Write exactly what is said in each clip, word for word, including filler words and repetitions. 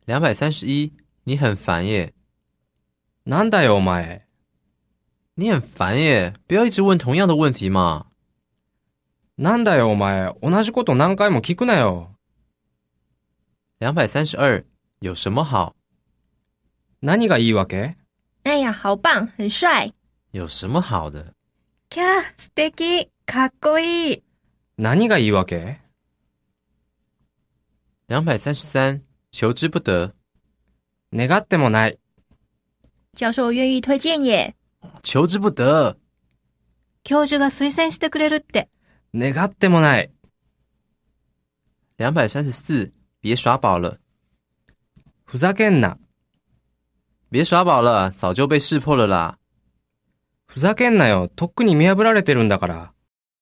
两百三十一，你很烦耶。 なんだよお前。 你很烦耶，不要一直问同样的问题嘛。 なんだよお前、同じこと何回も聞くなよ。 两百三十二，有什么好？ 何がいいわけ？ 哎呀，好棒，很帅。 有什么好的？ キャー、素敵、かっこいい。 何がいいわけ？ 两百三十三，求之不得。 願ってもない。 教授愿意推荐耶。 求之不得。 教授が推薦してくれるって。 願ってもない。 两百三十四，别耍宝了。 ふざけんな。 别耍宝了，早就被识破了啦。 ふざけんなよ、とっくに見破られてるんだから。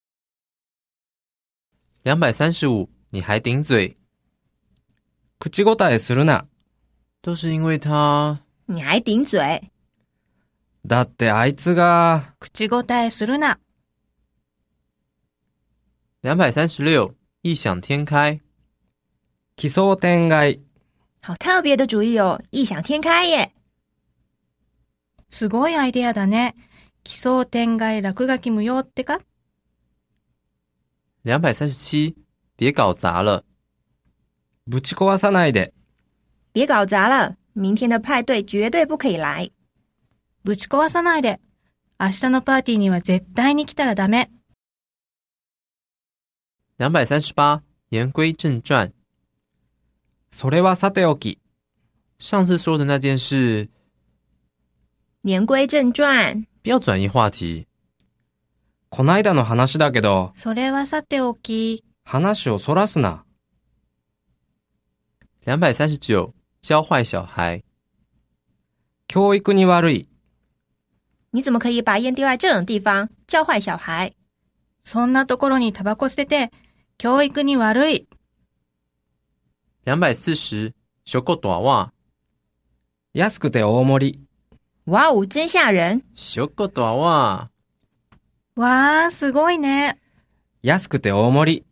两百三十五，你还顶嘴。 口答えするな。 都是因为他。 你还顶嘴。 だってあいつが。 口答えするな。 两百三十六，异想天开。 奇想天外。 好特别的主意哦，异想天开耶。すごいアイデアだね。奇想天外落書き無用ってか？ 两百三十七，别搞砸了。 ぶち壊さないで。 别搞砸了，明天的派对绝对不可以来。ぶち壊さないで。明日のパーティーには絶対に来たらダメ。 两百三十八，言归正传。 それはさておき。 上次说的那件事。 言归正传。 不要转移话题。 こないだの話だけど。 それはさておき。 話をそらすな。 两百三十九，教坏小孩。 教育に悪い。 你怎么可以把烟丢在这种地方，教坏小孩？そんなところにタバコ捨てて、教育に悪い。 两百四十，小狗短袜。 安くて大盛り。 哇哦，真吓人！ 小狗短袜。 哇ー、すごいね。 安くて大盛り。